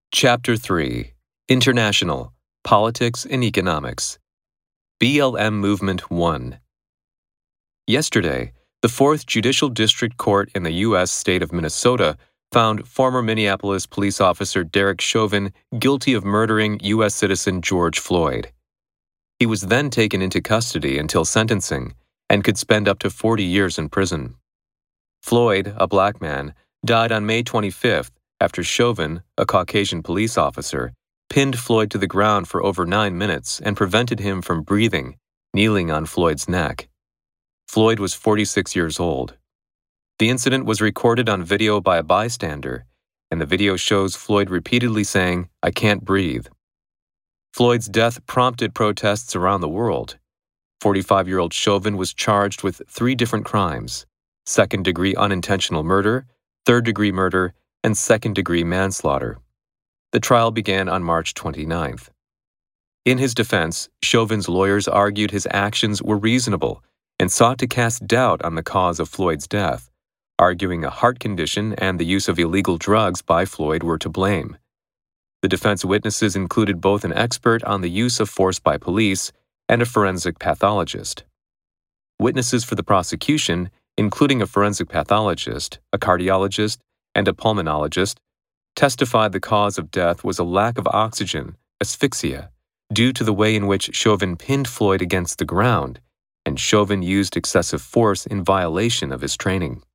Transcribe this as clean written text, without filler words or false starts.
Chapter 3 International Politics and Economics BLM Movement 1 Yesterday, the 4th Judicial District Court in the U.S. state of Minnesota found former Minneapolis police officer Derek Chauvin guilty of murdering U.S. citizen George Floyd. He was then taken into custody until sentencing and could spend up to 40 years in prison. Floyd, a black man, died on May 25th after Chauvin, a Caucasian police officer, pinned Floyd to the ground for over 9 minutes and prevented him from breathing, kneeling on Floyd's neck. Floyd was 46 years old. The incident was recorded on video by a bystander, and the video shows Floyd repeatedly saying, "I can't breathe." Floyd's death prompted protests around the world. 45-year-old Chauvin was charged with 3 different crimes: second-degree unintentional murder, third-degree murder, and second-degree manslaughter. The trial began on March 29th. In his defense, Chauvin's lawyers argued his actions were reasonable and sought to cast doubt on the cause of Floyd's death, arguing a heart condition and the use of illegal drugs by Floyd were to blame. The defense witnesses included both an expert on the use of force by police and a forensic pathologist. Witnesses for the prosecution, including a forensic pathologist, a cardiologist, and a pulmonologist, testified the cause of death was a lack of oxygen, asphyxia, due to the way in which Chauvin pinned Floyd against the ground, and Chauvin used excessive force in violation of his training.